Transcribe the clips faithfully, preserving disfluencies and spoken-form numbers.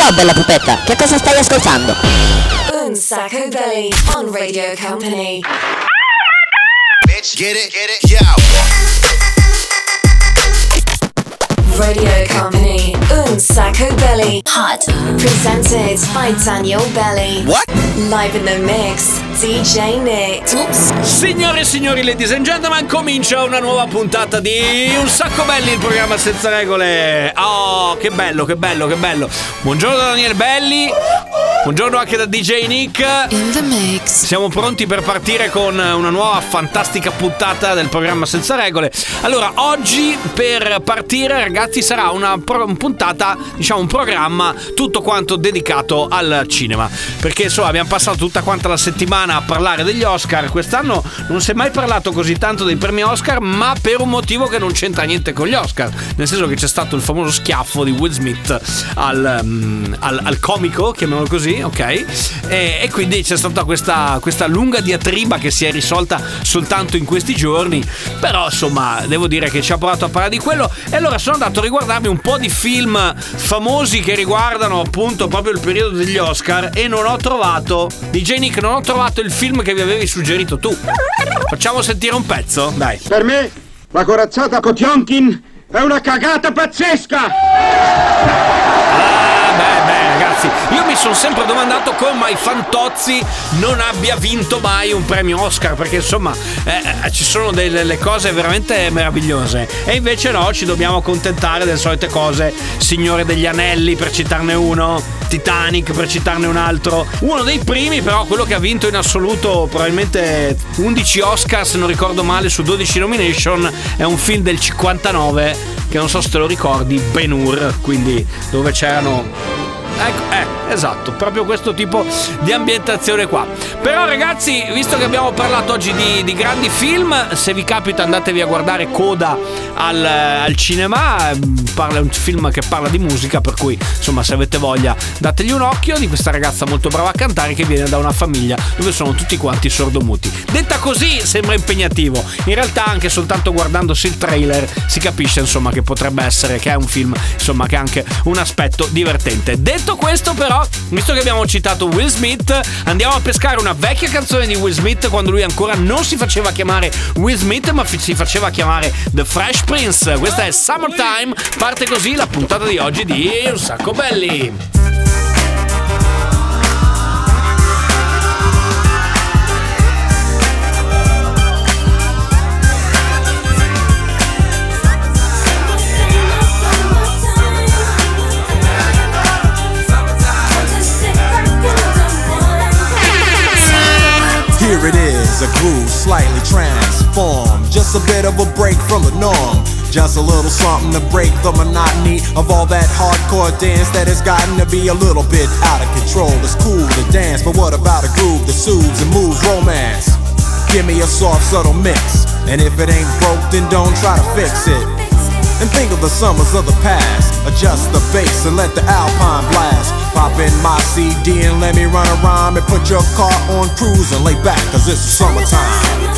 Ciao bella pupetta, che cosa stai ascoltando? Un Sacco Belly on Radio Company. Bitch, get it, get it, yo. Radio Company, Un Sacco Belly. Hot. Presented by Daniel Belly. What? Live in the mix, D J Nick. Oops. Signore e signori, ladies and gentlemen, comincia una nuova puntata di Un Sacco Belli, il programma senza regole. Oh, che bello, che bello, che bello. Buongiorno da Daniel Belli. Buongiorno anche da D J Nick. In the mix. Siamo pronti per partire con una nuova fantastica puntata del programma senza regole. Allora, oggi per partire, ragazzi, sarà una pro- puntata, diciamo un programma tutto quanto dedicato al cinema. Perché insomma abbiamo passato tutta quanta la settimana a parlare degli Oscar. Quest'anno non si è mai parlato così tanto dei premi Oscar, ma per un motivo che non c'entra niente con gli Oscar. Nel senso che c'è stato il famoso schiaffo di Will Smith al, um, al, al comico, chiamiamolo così. Ok, e, e quindi c'è stata questa, questa lunga diatriba che si è risolta soltanto in questi giorni. Però insomma devo dire che ci ha provato a parlare di quello. E allora sono andato a riguardarmi un po' di film famosi che riguardano appunto proprio il periodo degli Oscar e non ho trovato, D J Nick, non ho trovato il film che vi avevi suggerito tu. Facciamo sentire un pezzo? Dai. Per me la corazzata Potionkin è una cagata pazzesca. Ah, beh, beh, ragazzi, io mi sono sempre domandato come mai Fantozzi non abbia vinto mai un premio Oscar, perché insomma eh, ci sono delle, delle cose veramente meravigliose e invece no, ci dobbiamo accontentare delle solite cose. Signore degli Anelli, per citarne uno, Titanic, per citarne un altro. Uno dei primi, però, quello che ha vinto in assoluto probabilmente undici Oscar, se non ricordo male, su dodici nomination, è un film del cinquantanove che non so se te lo ricordi, Ben-Hur, quindi dove c'erano... Ecco, eh, esatto, proprio questo tipo di ambientazione qua. Però ragazzi, visto che abbiamo parlato oggi di, di grandi film, se vi capita andatevi a guardare Coda al, al cinema. Parla, è un film che parla di musica, per cui insomma se avete voglia dategli un occhio, di questa ragazza molto brava a cantare che viene da una famiglia dove sono tutti quanti sordomuti. Detta così sembra impegnativo, in realtà anche soltanto guardandosi il trailer si capisce insomma che potrebbe essere, che è un film insomma che ha anche un aspetto divertente. Detto questo però, visto che abbiamo citato Will Smith, andiamo a pescare una vecchia canzone di Will Smith quando lui ancora non si faceva chiamare Will Smith ma si faceva chiamare The Fresh Prince. Questa è Summertime, parte così la puntata di oggi di Un Sacco Belli. Here it is, a groove slightly transformed, just a bit of a break from the norm, just a little something to break the monotony of all that hardcore dance that has gotten to be a little bit out of control. It's cool to dance, but what about a groove that soothes and moves romance? Give me a soft, subtle mix, and if it ain't broke, then don't try to fix it. And think of the summers of the past, adjust the bass and let the Alpine blast. Pop in my C D and let me run a rhyme and put your car on cruise and lay back, cause it's summertime.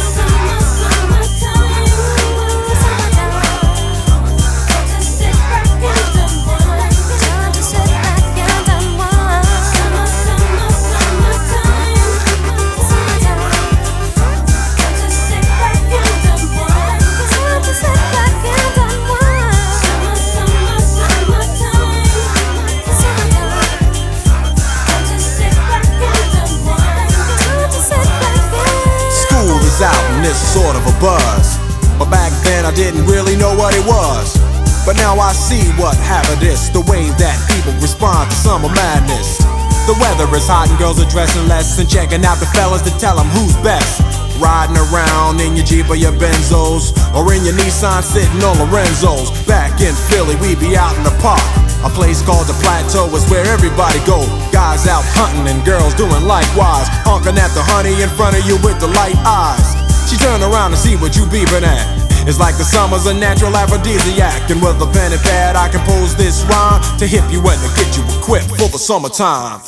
Out and it's sort of a buzz, but back then I didn't really know what it was. But now I see what happened is the way that people respond to summer madness. The weather is hot and girls are dressing less and checking out the fellas to tell them who's best. Riding around in your Jeep or your Benzos, or in your Nissan sitting on Lorenzo's. Back in Philly we be out in the park, a place called the Plateau is where everybody go. Guys out hunting and girls doing likewise, honking at the honey in front of you with the light eyes. She turn around to see what you beeping at. It's like the summer's a natural aphrodisiac, and with a pen and pad I compose this rhyme to hip you and to get you equipped for the summertime.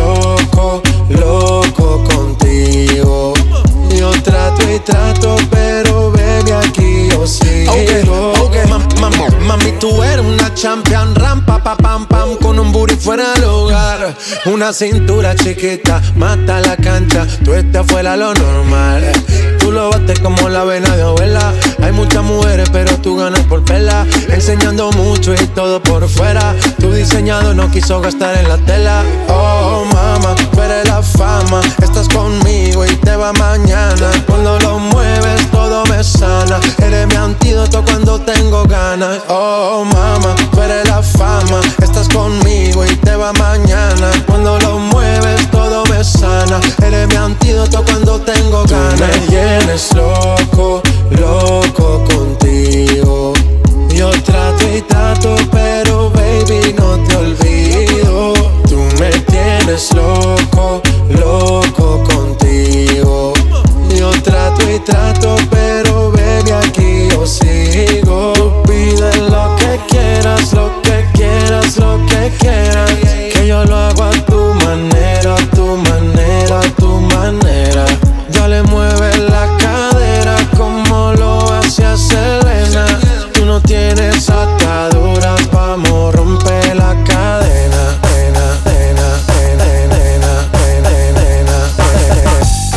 loco, loco contigo. Yo trato y trato, pero baby aquí yo sigo. Okay, okay. Mam, mam, mami, tú eres una champion, ram, pa, pa, pam, pam, con un booty fuera del hogar. Una cintura chiquita, mata la cancha, tú estás fuera lo normal. Tú lo bates como la vena de abuela. Hay muchas mujeres, pero tú ganas por pela. Enseñando mucho y todo por fuera. Tu diseñado no quiso gastar en la tela. Oh, mama, tú eres la fama. Estás conmigo y te va mañana. Cuando lo mueves todo me sana. Eres mi antídoto cuando tengo ganas. Oh, mama, tú eres la fama. Estás conmigo y te va mañana. Cuando lo mueves todo me sana. Eres mi antídoto cuando tengo ganas. Tú me tienes loco, loco contigo. Yo trato y trato, pero baby no te olvido. Tú me tienes loco, loco contigo. Yo trato y trato, pero baby aquí yo sigo. Tú pide lo que quieras, lo que quieras, lo que quieras. Que yo lo hago a tu manera, a tu manera, a tu manera. Ya le mueves la cadera como lo hacía Selena. Tú no tienes ataduras, vamos, rompe la cadena. Pena, pena, pena, pena, pena, pena, pena.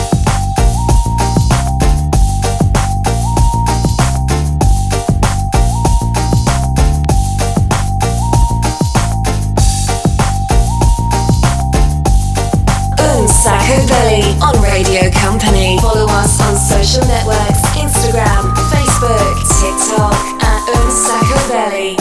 Unsacco Belly on Radio Company. Follow us on social networks, Instagram, Facebook, TikTok at Unsacco Belly.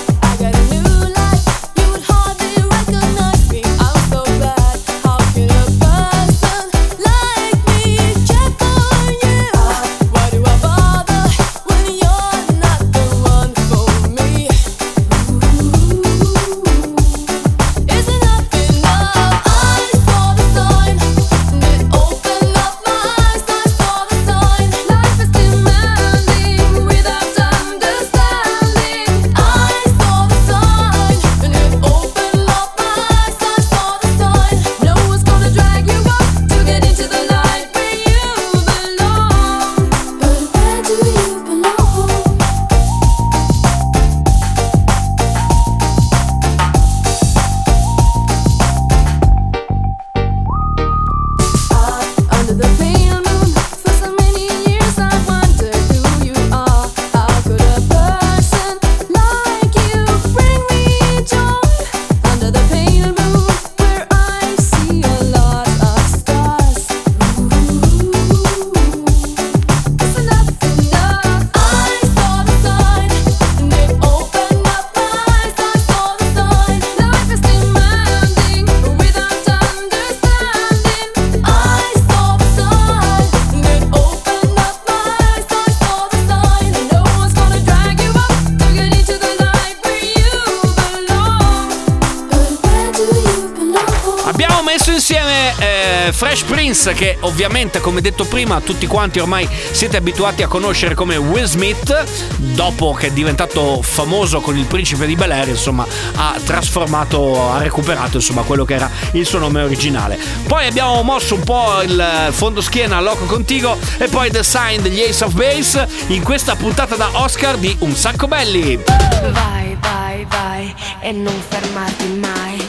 Fresh Prince, che ovviamente, come detto prima, tutti quanti ormai siete abituati a conoscere come Will Smith. Dopo che è diventato famoso con il Principe di Bel-Air, insomma, ha trasformato, ha recuperato insomma quello che era il suo nome originale. Poi abbiamo mosso un po' il fondoschiena Loco Contigo e poi The Sign degli Ace of Base in questa puntata da Oscar di Un Sacco Belli. Vai, vai, vai e non fermarti mai.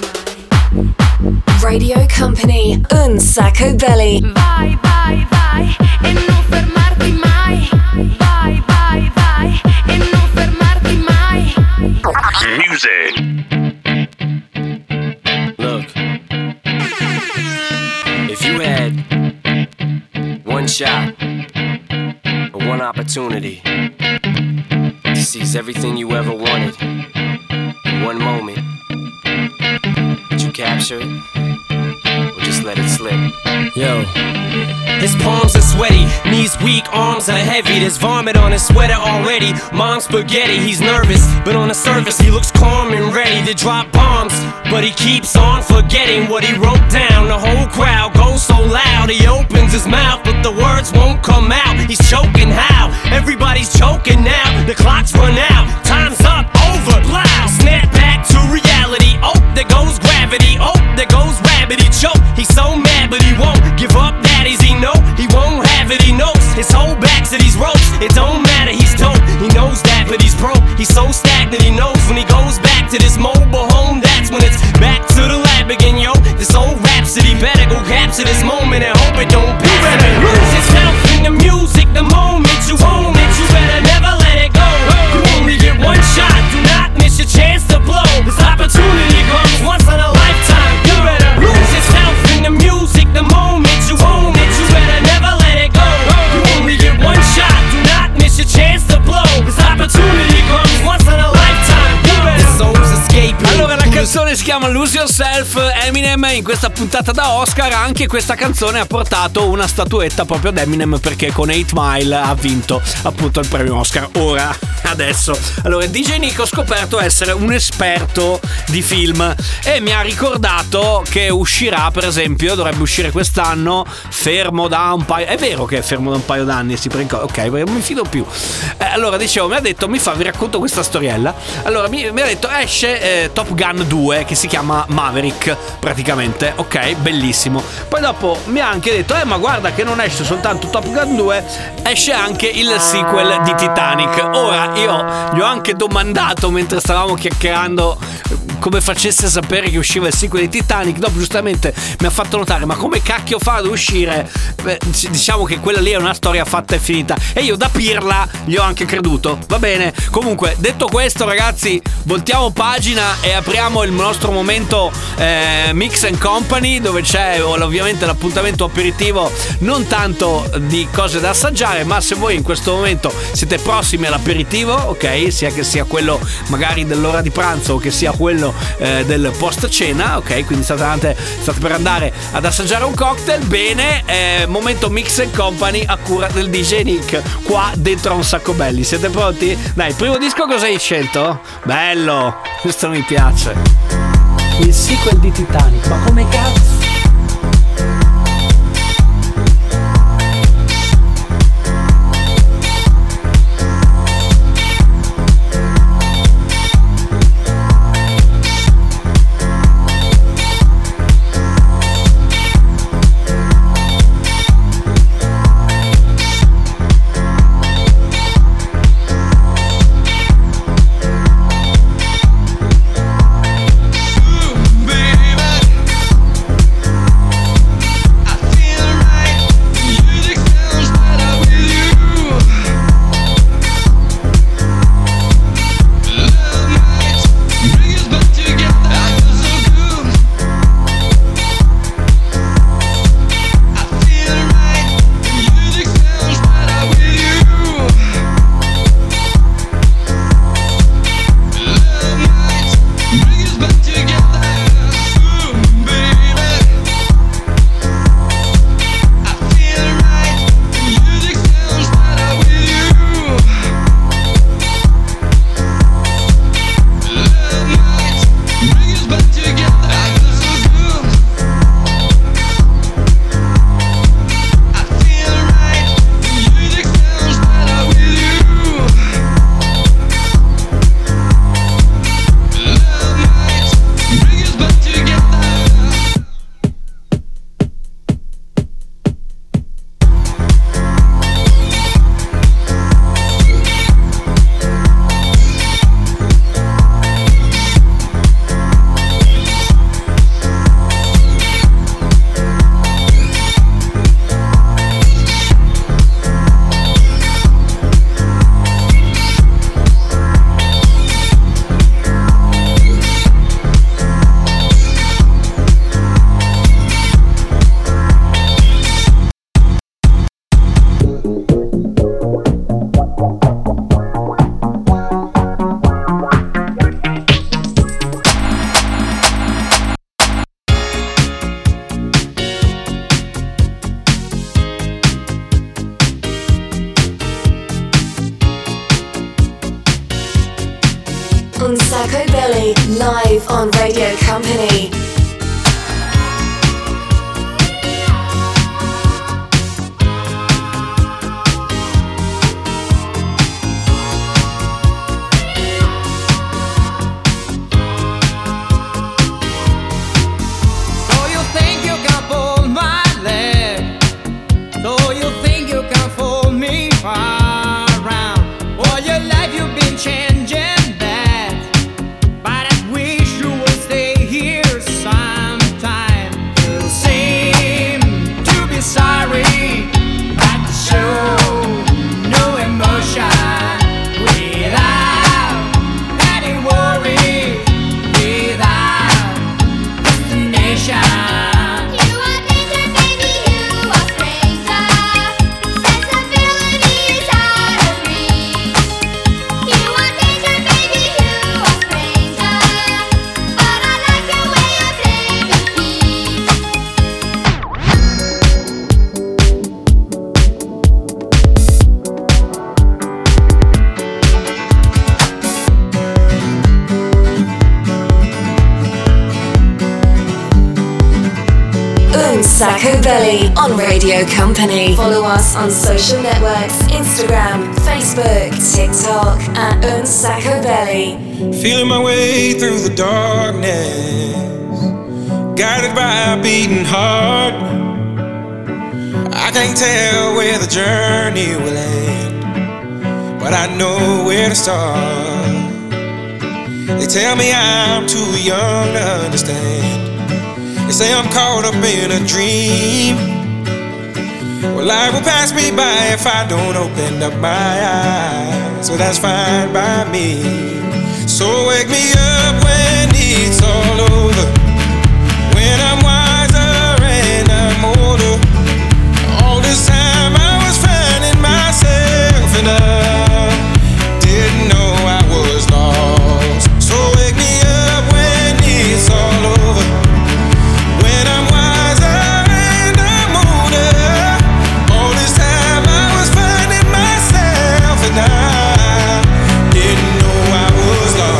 Radio Company, Unsacco Belly. Vai, vai, vai e non fermarti mai. Vai, vai, vai e non fermarti mai. Music. Look, if you had one shot or one opportunity to seize everything you ever wanted in one moment, would you capture it or just let it slip? Yo. His palms are sweaty, knees weak, arms are heavy. There's vomit on his sweater already. Mom's spaghetti, he's nervous, but on the surface he looks calm and ready to drop bombs. But he keeps on forgetting what he wrote down. The whole crowd goes so loud, he opens his mouth, but the words won't come out. He's choking how? Everybody's choking now. The clock's run out, time's up, over, loud. Snap back to reality, oh, there goes gravity. Oh, there goes rabbit, he choked. He's so mad, but he won't give up. Daddies, he know he won't have it. He knows his whole back to these ropes. It don't matter, he's dope. He knows that, but he's broke. He's so stagnant. He knows when he goes back to this mobile home, that's when it's back to the lab again, yo. This old rhapsody better go capture this moment and hope it don't pass. You better lose yourself in the music the moment you own it. You better never let it go. You only get one shot. Do not miss your chance to blow. This opportunity comes once in a lifetime. You better lose yourself in the music the moment you own it. You better never let it go. You only get one shot. Do not miss your chance to blow. This opportunity comes once in a lifetime. You better soul's escaping. Allora, la canzone si chiama Lose Yourself. Eminem in questa puntata da Oscar, anche questa canzone ha portato una statuetta proprio ad Eminem, perché con eight mile ha vinto appunto il premio Oscar. Ora, adesso, allora D J Nick ho scoperto essere un esperto di film e mi ha ricordato che uscirà, per esempio, dovrebbe uscire quest'anno, fermo da un paio, è vero che è fermo da un paio d'anni, si prende, ok, perché non mi fido più. Eh, allora dicevo, mi ha detto, mi fa, vi racconto questa storiella. Allora mi, mi ha detto, esce eh, Top Gun due, che si chiama Maverick praticamente, ok, bellissimo. Poi dopo mi ha anche detto, eh ma guarda che non esce soltanto Top Gun due, esce anche il sequel di Titanic. Ora io gli ho anche domandato mentre stavamo chiacchierando come facesse a sapere che usciva il sequel di Titanic. Dopo giustamente mi ha fatto notare, ma come cacchio fa ad uscire? Beh, diciamo che quella lì è una storia fatta e finita, e io da pirla gli ho anche creduto. Va bene, comunque detto questo ragazzi, voltiamo pagina e apriamo il nostro momento eh, Mix and Company, dove c'è ovviamente l'appuntamento aperitivo, non tanto di cose da assaggiare, ma se voi in questo momento siete prossimi all'aperitivo, ok, sia che sia quello magari dell'ora di pranzo o che sia quello eh, del post cena, ok, quindi state, andate, state per andare ad assaggiare un cocktail, bene, eh, momento Mix and Company a cura del D J Nick qua dentro a Un Sacco Belli. Siete pronti? Dai, il primo disco cosa hai scelto? Bello, questo mi piace. Il sequel di Titanic, ma come cazzo? Un Sacco Belly, live on Radio Company. Oh, you think you got Unsacco Belly on Radio Company. Follow us on social networks, Instagram, Facebook, TikTok at Unsacco Belly. Feeling my way through the darkness, guided by a beating heart. I can't tell where the journey will end, but I know where to start. They tell me I'm too young to understand. They say I'm caught up in a dream. Well, life will pass me by if I don't open up my eyes. So that's fine by me. So wake me up when it's all over, when I'm wiser and I'm older. All this time I was finding myself and I didn't know I was lost. So wake me up when it's all over, when I'm wiser and I'm older. All this time I was finding myself and I didn't know I was lost.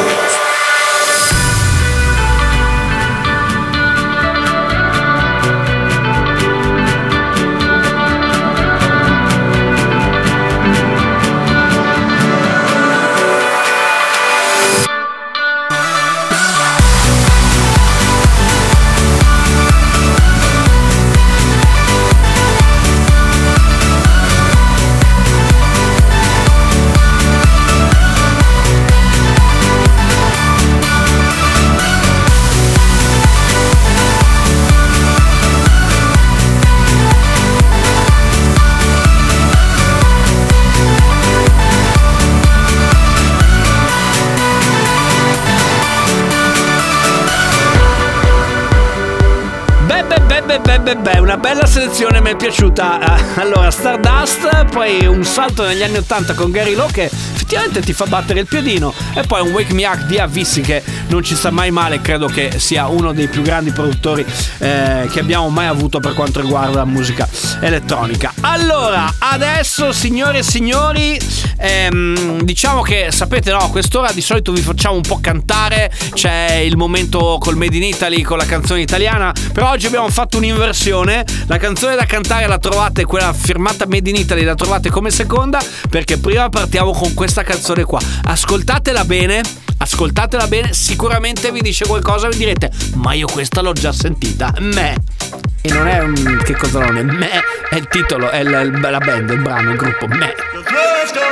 Beh, beh, beh, una bella selezione, mi è piaciuta. Allora, Stardust, poi un salto negli anni ottanta con Gary Lowe che effettivamente ti fa battere il piedino, e poi un Wake Me Up di Avicii che non ci sta mai male, credo che sia uno dei più grandi produttori eh, che abbiamo mai avuto per quanto riguarda la musica elettronica. Allora, adesso signore e signori, ehm, diciamo che sapete, no, a quest'ora di solito vi facciamo un po' cantare, c'è il momento col Made in Italy, con la canzone italiana, però oggi abbiamo fatto un'inversione. La canzone da cantare la trovate, quella firmata Made in Italy, la trovate come seconda, perché prima partiamo con questa canzone qua. Ascoltatela bene, ascoltatela bene, sicuramente vi dice qualcosa, vi direte ma io questa l'ho già sentita. Me e non è un, che cosa non è, me è il titolo, è la, la band, il brano, il gruppo Me. Let's go,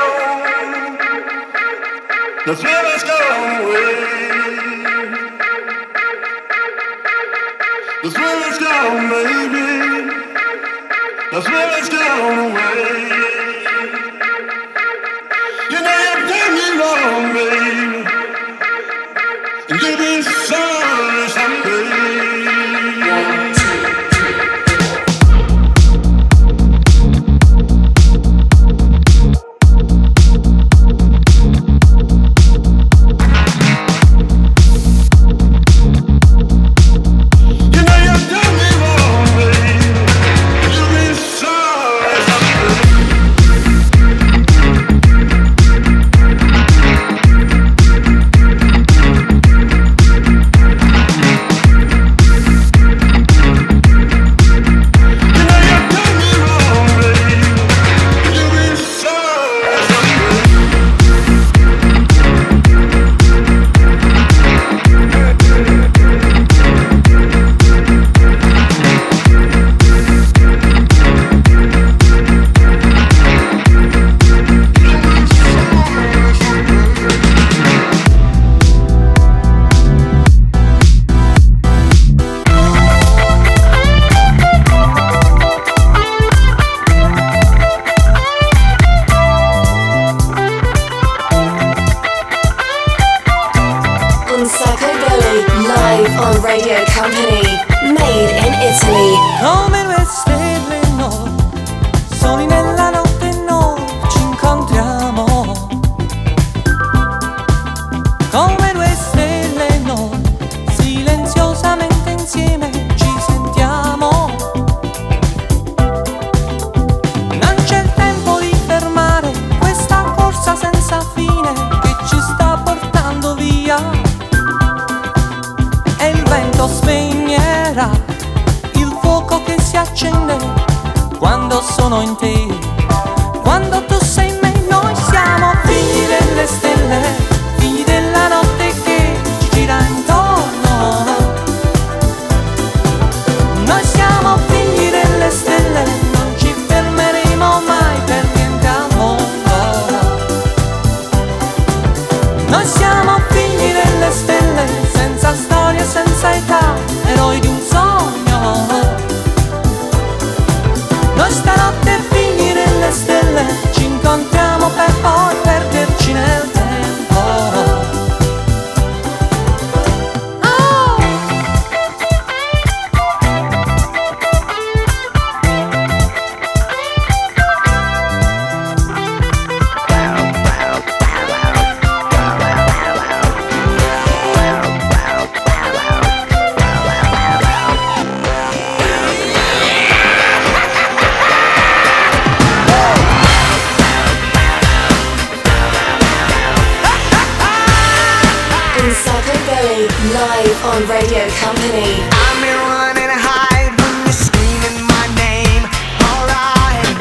let's go, let's go away. Let's let us go, baby. Let's let us go away. You know you've done me wrong, baby, and you've been sorry someday. One, two. You know you've done me wrong, baby. You've been sorry someday. si accende quando sono in te, quando tu sei in me. Noi siamo figli delle stelle, figli della notte che ci gira intorno. Noi siamo figli delle stelle, non ci fermeremo mai per niente al mondo. Noi siamo figli delle stelle, senza storia, senza età, eroi di un sogno. Noi stanotte figli delle stelle, ci incontriamo per poi perderci nel tempo. Oh! Live on Radio Company. I'm in run and hide when you're screaming my name. Alright.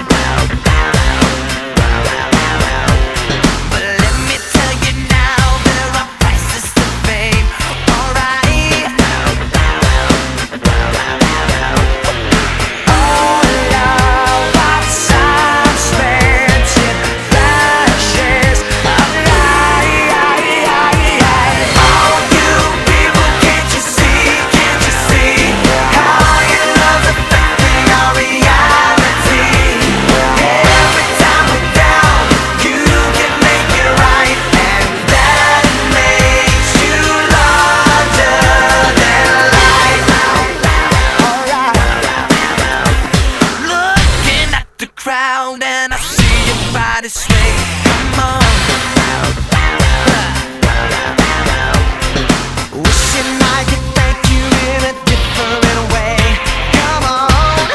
But let me tell you now, there are prices to fame. Alright. All of our time spent in flashes of light. All you people, can't you see, can't you see how your love's affecting our reality? Every time we're down, you can make it right, and that makes you larger than life. Alright. Looking at the crowd and I see your body sway. Come on. Wishing I could thank you in a different way. Come on.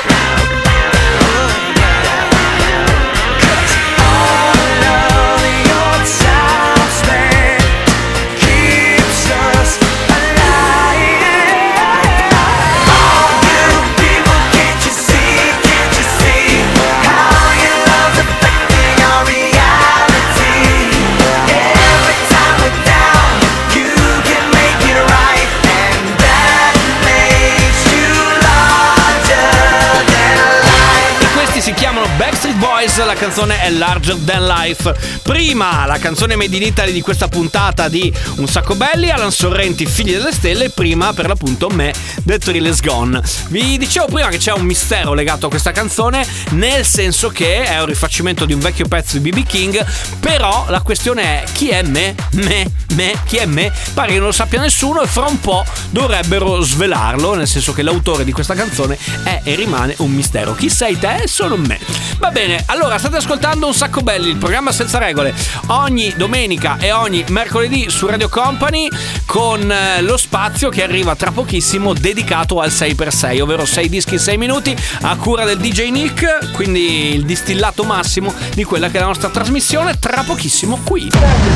Cause all of your time spent keeps us alive. All you people, can't you see, can't you see how your love's affecting our reality? Every time we're down, you can make it right, and that makes you larger than life. E questi si chiamano Backstreet Boys, la canzone è Larger Than Life. Prima la canzone Made in Italy di questa puntata di Un Sacco Belli, Alan Sorrenti, Figli delle Stelle, prima per l'appunto me, The Thrill Is Gone. Vi dicevo prima che c'è un mistero legato a questa canzone, nel senso che è un rifacimento di un vecchio pezzo di B B King, però la questione è: chi è me? Me? Me? Chi è me? Pare che non lo sappia nessuno, e fra un po' dovrebbero svelarlo, nel senso che l'autore di questa canzone è e rimane un mistero. Chi sei te? Sono me. Va bene, allora state ascoltando Un Sacco Belli, il programma senza regole, ogni domenica e ogni mercoledì su Radio Company, con eh, lo spazio che arriva tra pochissimo dedicato al sei per sei, ovvero sei dischi in sei minuti a cura del D J Nick, quindi il distillato massimo di quella che è la nostra trasmissione, tra pochissimo qui.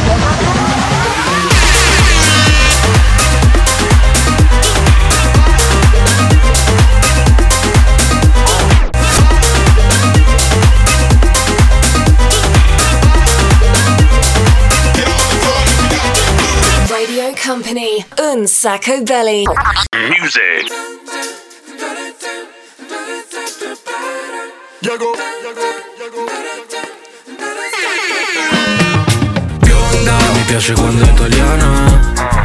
Radio Company, Un Sacco Belli. Music. Bionda, mi piace quando è italiana.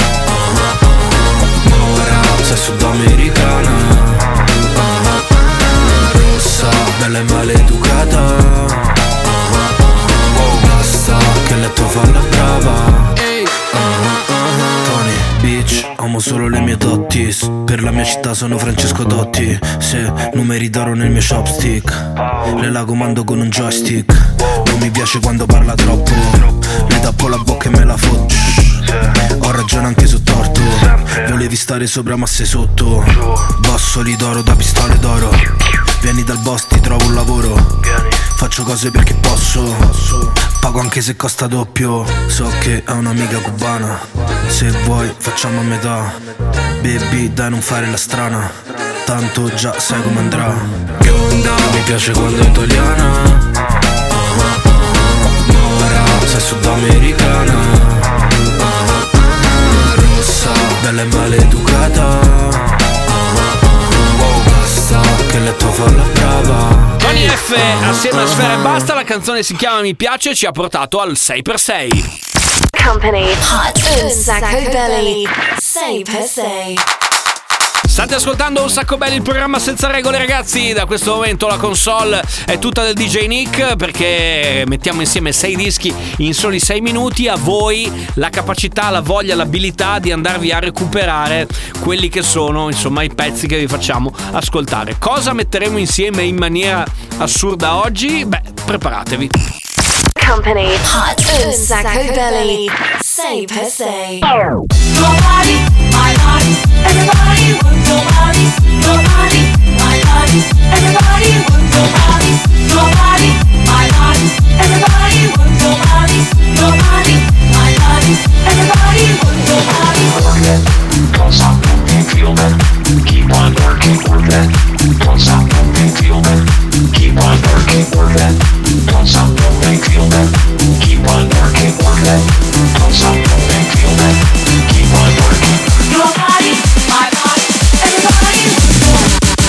Mora, sei sudamericana. Rossa, bella e maleducata. Basta che letto fa la brava. Tony, bitch, amo solo le mie dotties. Per la mia città sono Francesco Dotti. Se numeri d'oro nel mio chopstick, le la comando con un joystick. Non mi piace quando parla troppo, le tappo la bocca e me la fotto. Ho ragione anche su torto, volevi stare sopra ma sei sotto. Bossoli d'oro da pistole d'oro. Vieni dal boss, ti trovo un lavoro. Faccio cose perché posso, pago anche se costa doppio. So che è un'amica cubana, se vuoi facciamo a metà. Baby, dai non fare la strana. tanto già sai come andrà. Bionda, mi piace quando è italiana. uh-huh, uh-huh. Mora, sei sudamericana. uh-huh, uh-huh. Rossa, bella e maleducata. uh-huh, uh-huh. Basta che letto fa la brava. Tony F assieme a Sfera e Basta, la canzone si chiama Mi piace e ci ha portato al sei per sei. Company Hot Un Sacco Belly sei per sei. State ascoltando Un Sacco Belli, il programma senza regole, ragazzi. Da questo momento la console è tutta del D J Nick, perché mettiamo insieme sei dischi in soli sei minuti. A voi la capacità, la voglia, l'abilità di andarvi a recuperare quelli che sono, insomma, i pezzi che vi facciamo ascoltare. Cosa metteremo insieme in maniera assurda oggi? Beh, preparatevi. Company Hot Un Sacco Belly sei per sei. Your body, my body, everybody wants your body. Your body, my body, everybody wants your body. Your body, my body, everybody wants your body. Your body, my body, everybody wants your body. Work it, don't stop moving, feel that. Keep on working, work that. Don't stop moving, feel that. Keep on working, work that. Don't stop moving, feel that. Keep on working, work that. Don't stop moving, feel that. Keep on working. Your body, my body, everybody wants your body.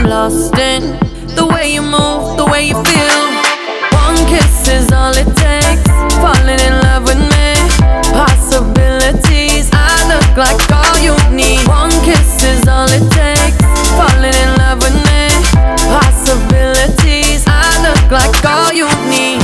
lost in the way you move, the way you feel. One kiss is all it takes, falling in love with me. Possibilities, I look like all you need. One kiss is all it takes, falling in love with me. Possibilities, I look like all you need.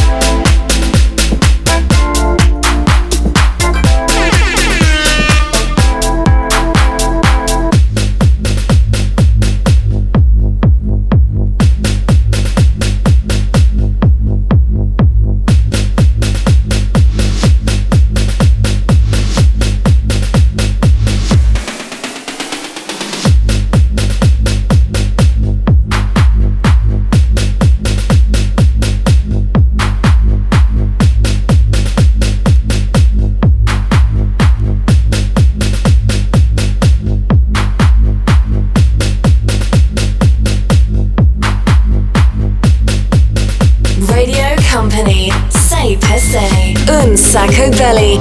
Un Sacco Belly.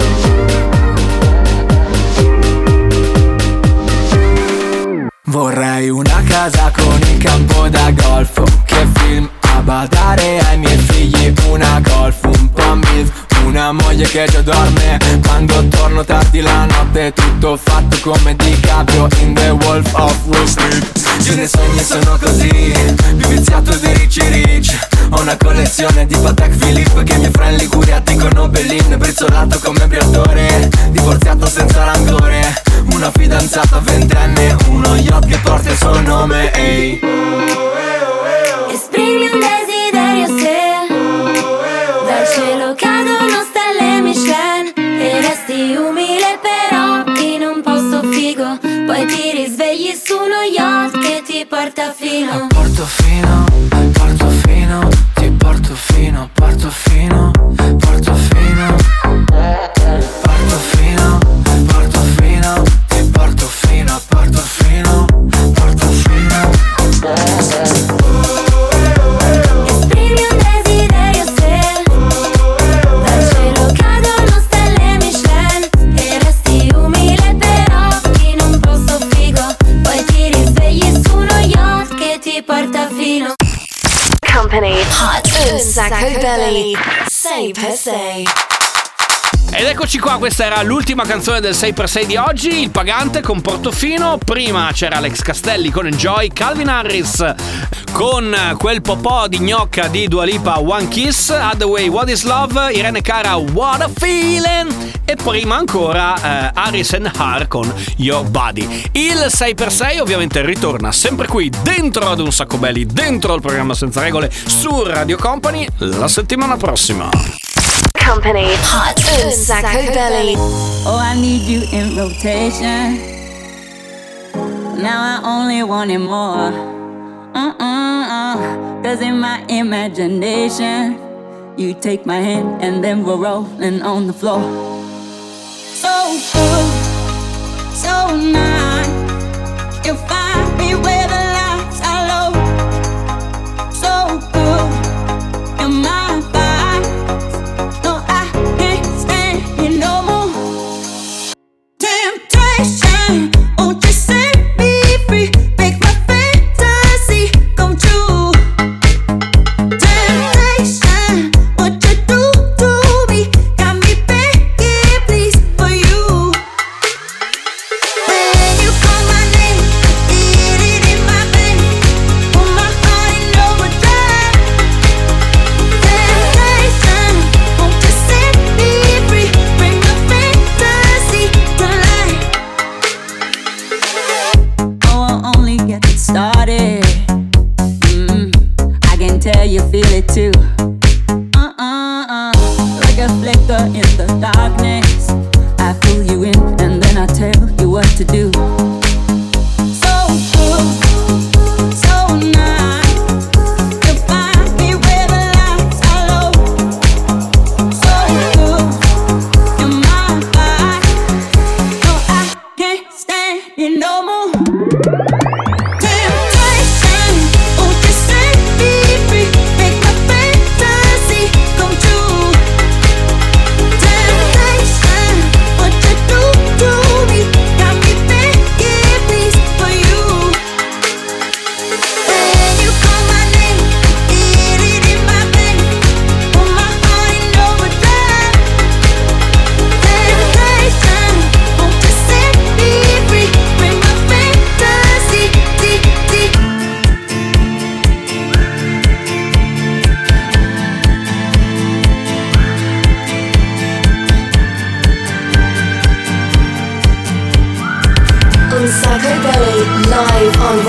Vorrei una casa con il campo da golf, che film a badare ai miei figli, una golf, un po' milf, una moglie che già dorme quando torno tardi la notte, tutto fatto come DiCaprio in The Wolf of Wall Street. Io nei sogni sono così, più viziato di Ricci Rich. Ho una collezione di Patek Philippe che i miei friend Liguria dicono Bellin, brizzolato come briatore, divorziato senza rancore, una fidanzata ventenne, uno yacht che porta il suo nome, ehi. Esprimi un desiderio se dal cielo cadono stelle Michelin e resti umile però in un posto figo, poi ti risvegli su uno yacht che ti porta fino a Portofino, Portofino, ti porto fino, Portofino, Portofino, Portofino, Portofino, ti porto fino a Portofino, Portofino. Esprimi un desiderio se dal cielo cadono stelle Michelin e resti umile però in un posto figo, poi ti risvegli su uno yacht che ti porta fino. Company Hot Un Sacco Belly sei per sei. Ed eccoci qua, questa era l'ultima canzone del sei per sei di oggi, Il Pagante con Portofino. Prima c'era Alex Castelli con Enjoy, Calvin Harris con quel popò di gnocca di Dua Lipa, One Kiss, Hathaway, What Is Love, Irene Cara, What a Feeling, e prima ancora eh, Harris and Har con Your Body. Il sei per sei ovviamente ritorna sempre qui dentro ad Un Sacco Belli, dentro il programma Senza Regole su Radio Company la settimana prossima. Company Hot Un Sacco Belly. Oh, I need you in rotation. Now I only want it more. Uh-uh-uh. Cause in my imagination, you take my hand and then we're rolling on the floor. So good, so nice. You find me where the lights are low. So good, you're my vibe. No, I can't stand you no more. Temptation, won't you set me free? Make my fantasy come true. Temptation, what you do to me got me begging please for you. When you call my name, feel it in my veins, put my heart in overdrive. Temptation, won't you set me free? Bring my fantasy to life. Oh, I'll only get started. Mm, I can tell you feel it too. Uh-uh-uh. Like a flicker in the darkness, I pull you in and then I tell you what to do. So good, so nice. You find me where the lights are low. So good, you're my vibe. No, I can't stand you no more. Temptation, won't you set me free? Make my fantasy come true. Temptation, what you do to me got me begging please for you.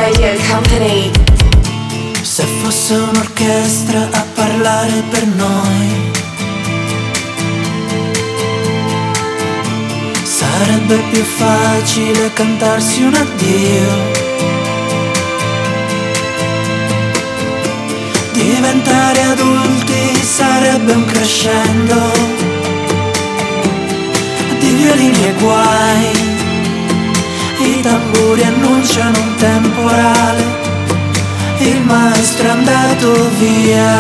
Radio Company. Se fosse un'orchestra a parlare per noi, sarebbe più facile cantarsi un addio. Diventare adulti sarebbe un crescendo di violini e guai. I tamburi annunciano un temporale, il maestro è andato via.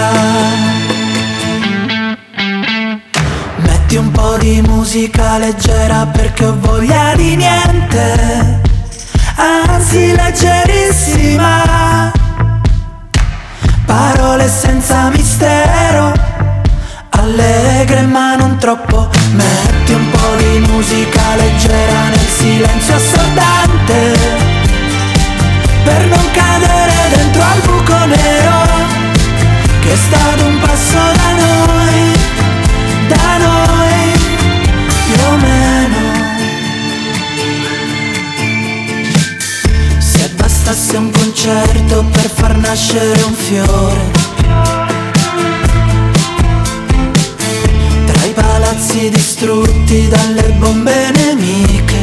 Metti un po' di musica leggera perché ho voglia di niente, anzi leggerissima. Parole senza mistero, allegre ma non troppo. Metti un po' di musica leggera nel silenzio assordante, per non cadere dentro al buco nero che è stato un passo da noi, da noi, più o meno. Se bastasse un concerto per far nascere un fiore, tra i palazzi distrutti dalle bombe nemiche,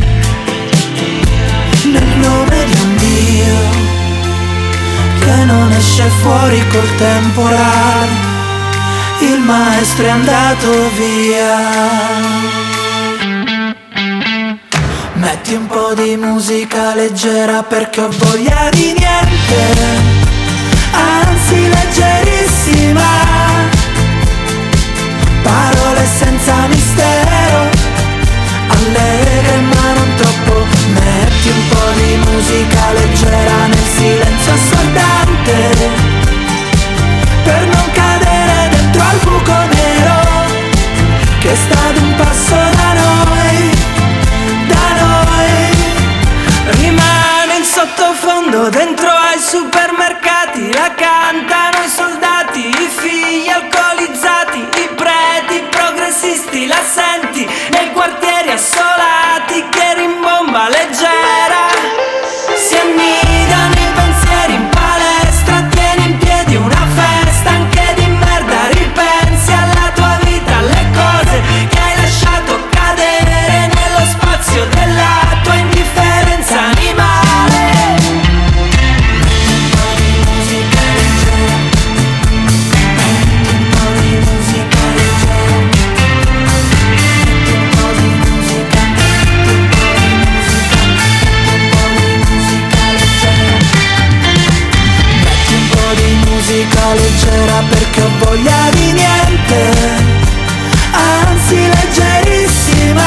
nel nome di un Dio che non esce fuori col temporale, il maestro è andato via. Metti un po' di musica leggera perché ho voglia di niente, anzi leggerissima. Parole senza mistero, allegre ma non troppo. Metti un po' di musica leggera nel silenzio assordante, per non cadere dentro al buco nero che è stato un passo da noi, da noi. Rimane in sottofondo dentro ai supermercati, la cantano i soldati, i figli alcolizzati, i preti progressisti, la senti nei quartieri assolati che rimbomba leggera, si annidano i pensieri in palestra, tieni in piedi una festa anche di merda, ripensi alla tua vita, alle cose che hai lasciato cadere nello spazio della tua indifferenza animale. Metti un po' di musica leggera, metti un po' di musica leggera, metti un po' di musica, metti un po' di musica, metti un po' di musica leggera perché ho voglia di niente, anzi leggerissima.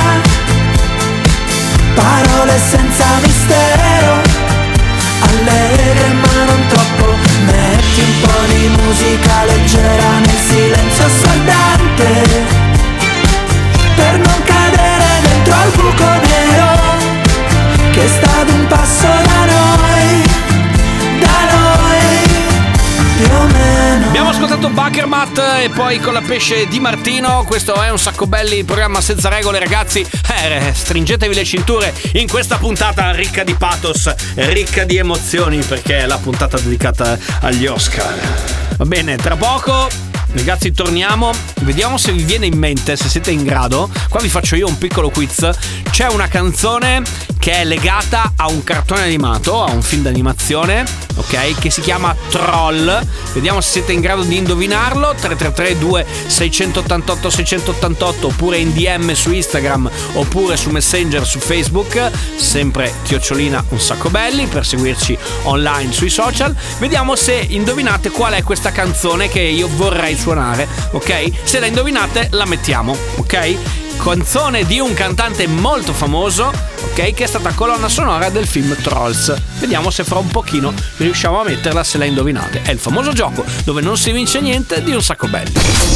Parole senza mistero, allegre ma non troppo. Metti un po' di musica leggera nel silenzio assordante, per non cadere dentro al buco nero che è stato un passo da noi, da noi, più o meno. Abbiamo ascoltato Buckermat e poi con la pesce Di Martino. Questo è un sacco belli, programma senza regole, ragazzi. Eh, stringetevi le cinture in questa puntata ricca di pathos, ricca di emozioni, perché è la puntata dedicata agli Oscar. Va bene, tra poco ragazzi torniamo, vediamo se vi viene in mente, se siete in grado. Qua vi faccio io un piccolo quiz. C'è una canzone che è legata a un cartone animato, a un film d'animazione, ok, che si chiama Troll. Vediamo se siete in grado di indovinarlo. Tre tre tre due sei otto otto sei otto otto oppure in D M su Instagram oppure su Messenger su Facebook, sempre chiocciolina un sacco belli, per seguirci online sui social. Vediamo se indovinate qual è questa canzone che io vorrei suonare, ok? Se la indovinate la mettiamo, ok? Canzone di un cantante molto famoso, ok, che è stata colonna sonora del film Trolls. Vediamo se fra un pochino riusciamo a metterla, se la indovinate. È il famoso gioco dove non si vince niente di un sacco belli.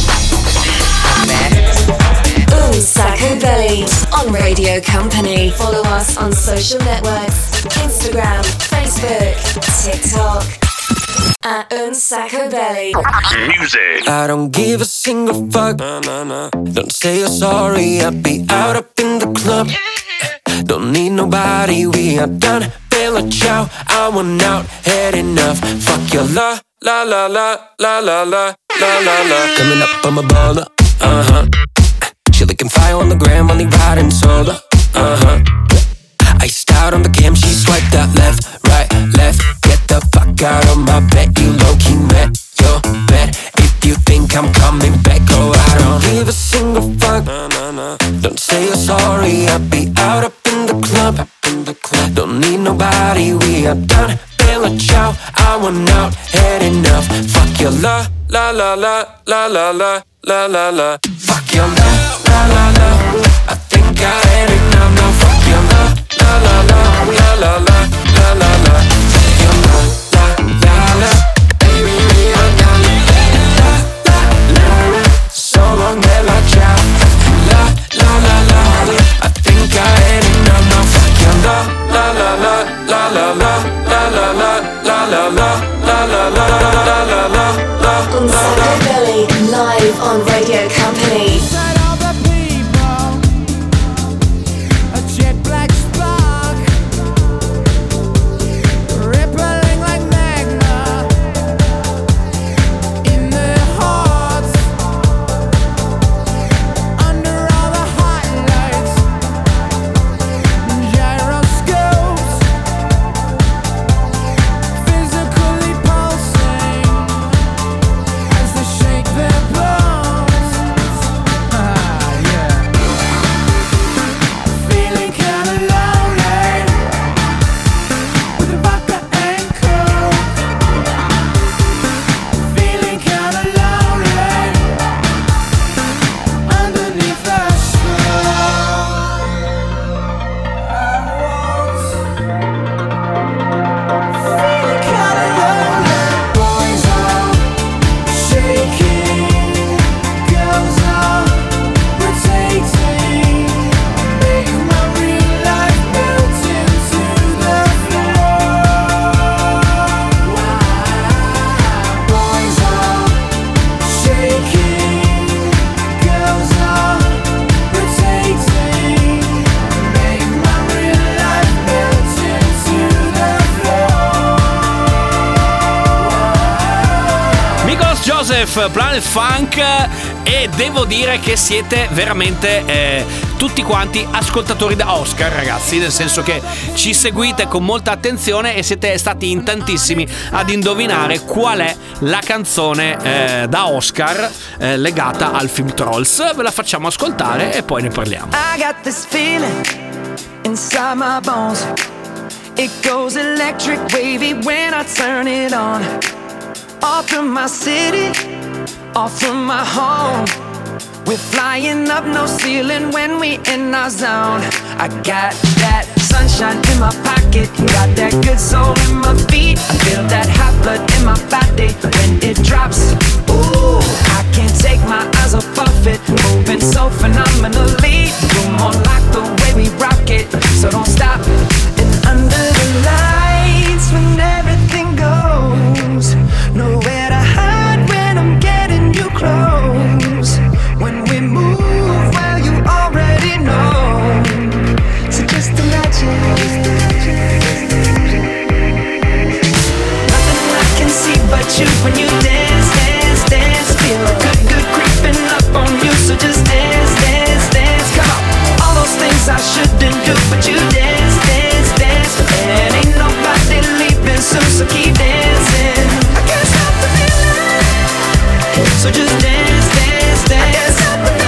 Un Sacco Belly on Radio Company. Follow us on social networks, Instagram, Facebook, TikTok at Un Sacco Belly. Music. I don't give a single fuck. Don't say you're sorry. I'll be out up in the club. Don't need nobody, we are done. Bella ciao, I want out, had enough. Fuck your la, la la la, la la la, la la la. Coming up, I'm a baller, uh-huh. She looking fire on the gram, only riding solo, uh-huh. Iced out on the cam, she swiped out left, right, left. Get the fuck out of my bed, you low-key met your bed. If you think I'm coming back, go out. Don't give a single fuck, don't say you're sorry. I'll be out up in the club, don't need nobody, we are done. Bella ciao, I want out, had enough. Fuck your la, la la la, la la la, la la la. Fuck your la, la la la, I think I had enough. Now fuck your la, la la la, la la la, la la la. Fuck your la, la la la, baby we are done. La la la la, so long bella ciao. La la la la, I think I had enough. Now fuck your la, la la la, la la la, la la la, la la la, la la la, la la la, la. On Psycho Billy, live on Radio Company. Planet Funk, e devo dire che siete veramente eh, tutti quanti ascoltatori da Oscar, ragazzi, nel senso che ci seguite con molta attenzione e siete stati in tantissimi ad indovinare qual è la canzone eh, da Oscar eh, legata al film Trolls. Ve la facciamo ascoltare e poi ne parliamo. I got this feeling inside my bones. It goes electric wavy when I turn it on. Off from my city, off from my home. We're flying up, no ceiling when we in our zone. I got that sunshine in my pocket, got that good soul in my feet. I feel that hot blood in my body when it drops. Ooh, I can't take my eyes off of it, moving so phenomenally. You're more like the way we rock it, so don't stop. And under the lights when everything goes, nowhere to hide when I'm getting you close. When we move, well, you already know. So just imagine. Nothing I can see but you when you dance, dance, dance. Feel good, good creeping up on you. So just dance, dance, dance. Come on. All those things I shouldn't do, but you dance, dance, dance. And ain't nobody leaving soon, so keep dancing. I can't stop the feeling. So just dance, dance, dance.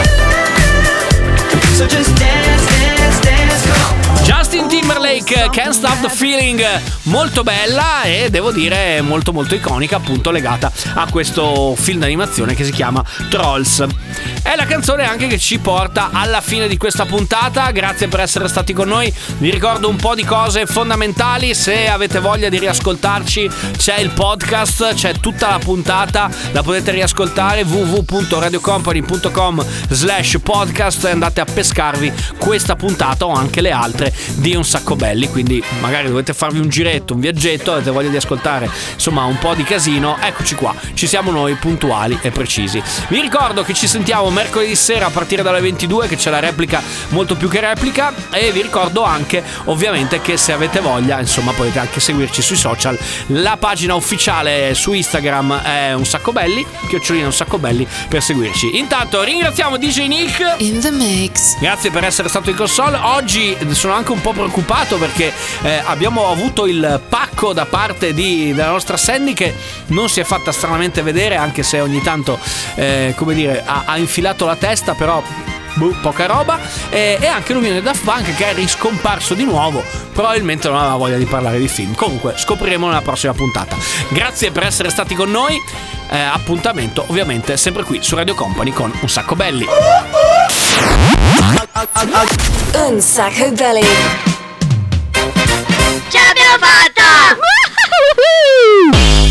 So just dance, dance, dance. Come on. Justin Timberlake, Can't Stop the Feeling, molto bella e devo dire molto molto iconica, appunto legata a questo film d'animazione che si chiama Trolls. È la canzone anche che ci porta alla fine di questa puntata. Grazie per essere stati con noi. Vi ricordo un po' di cose fondamentali: se avete voglia di riascoltarci c'è il podcast, c'è tutta la puntata, la potete riascoltare w w w punto radio company punto com slash podcast e andate a pescarvi questa puntata o anche le altre di Un Sacco Belli. Quindi magari dovete fare farvi un giretto, un viaggetto, avete voglia di ascoltare insomma un po' di casino, eccoci qua, ci siamo noi puntuali e precisi. Vi ricordo che ci sentiamo mercoledì sera a partire dalle ventidue, che c'è la replica molto più che replica, e vi ricordo anche ovviamente che se avete voglia insomma potete anche seguirci sui social. La pagina ufficiale su Instagram è Un Sacco Belli, chiocciolina Un Sacco Belli per seguirci. Intanto ringraziamo D J Nick in the mix. Grazie per essere stato in console. Oggi sono anche un po' preoccupato perché eh, abbiamo avuto il pacco da parte di, della nostra Sandy, che non si è fatta stranamente vedere, anche se ogni tanto eh, come dire ha, ha infilato la testa, però boh, poca roba. E, e anche l'Unione Daft Punk, che è riscomparso di nuovo, probabilmente non aveva voglia di parlare di film. Comunque scopriremo nella prossima puntata. Grazie per essere stati con noi. Eh, appuntamento ovviamente sempre qui su Radio Company con Un Sacco Belli. Un Sacco Belli. Ce l'abbiamo fatta!